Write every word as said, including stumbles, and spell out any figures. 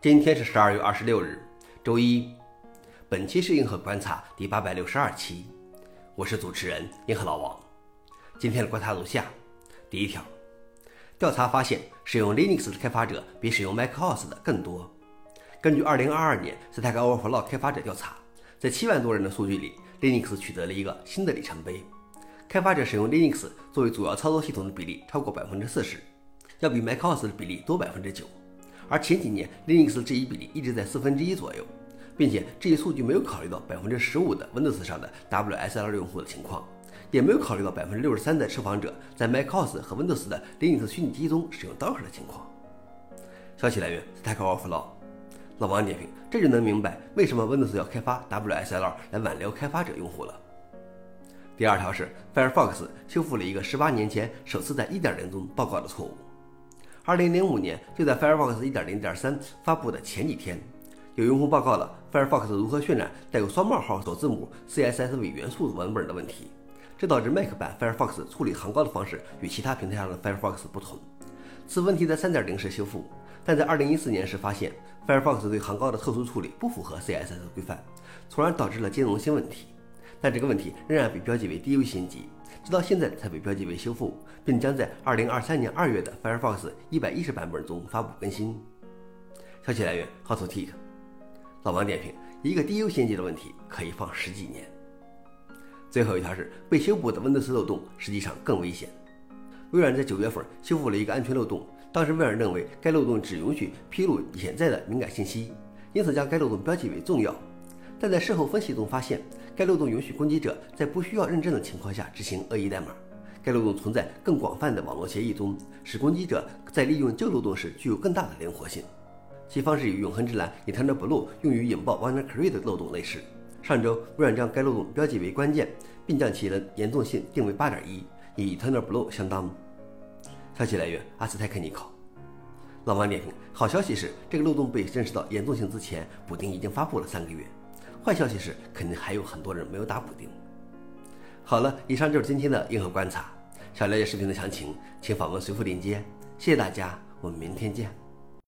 今天是十二月二十六日，周一。本期是硬核观察第八百六十二期，我是主持人硬核老王。今天的观察如下：第一条，调查发现，使用 Linux 的开发者比使用 macOS 的更多。根据二零二二年 Stack Overflow 开发者调查，在七万多人的数据里 ，Linux 取得了一个新的里程碑。开发者使用 Linux 作为主要操作系统的比例超过 百分之四十， 要比 macOS 的比例多 百分之九。而前几年 Linux 的这一比例一直在四分之一左右，并且这一数据没有考虑到 百分之十五 的 Windows 上的 W S L 用户的情况，也没有考虑到 百分之六十三 的受访者在 macOS 和 Windows 的 Linux 虚拟机中使用 Docker 的情况。消息来源 Stack Overflow。老王点评，这就能明白为什么 Windows 要开发 W S L 来挽留开发者用户了。第二条是 Firefox 修复了一个十八年前首次在 一点零 中报告的错误。二零零五年，就在 Firefox 一点零点三 发布的前几天，有用户报告了 Firefox 如何渲染带有双冒号首字母 C S S 伪元素文本的问题，这导致 Mac 版 Firefox 处理行高的方式与其他平台上的 Firefox 不同。此问题在 三点零 时修复，但在二零一四年时发现 Firefox 对行高的特殊处理不符合 C S S 规范，从而导致了兼容性问题。但这个问题仍然被标记为低优先级，直到现在才被标记为修复，并将在二零二三年二月的 Firefox 一百一十版本中发布更新。消息来源 HotTeek。老王点评，一个低优先级的问题可以放十几年。最后一条是被修补的 Windows 漏洞实际上更危险。微软在九月份修复了一个安全漏洞，当时微软认为该漏洞只允许披露潜在的敏感信息，因此将该漏洞标记为重要。但在事后分析中发现，该漏洞允许攻击者在不需要认证的情况下执行恶意代码。该漏洞存在更广泛的网络协议中，使攻击者在利用旧漏洞时具有更大的灵活性。其方式与永恒之蓝 EternalBlue 用于引爆 WannaCry 的漏洞类似。上周，微软将该漏洞标记为关键，并将其的严重性定为 八点一， 与 EternalBlue 相当。消息来源 Astechnical。老王点评，好消息是这个漏洞被认识到严重性之前，补丁已经发布了三个月。坏消息是，肯定还有很多人没有打补丁。好了，以上就是今天的硬核观察。想了解视频的详情，请访问随附链接。谢谢大家，我们明天见。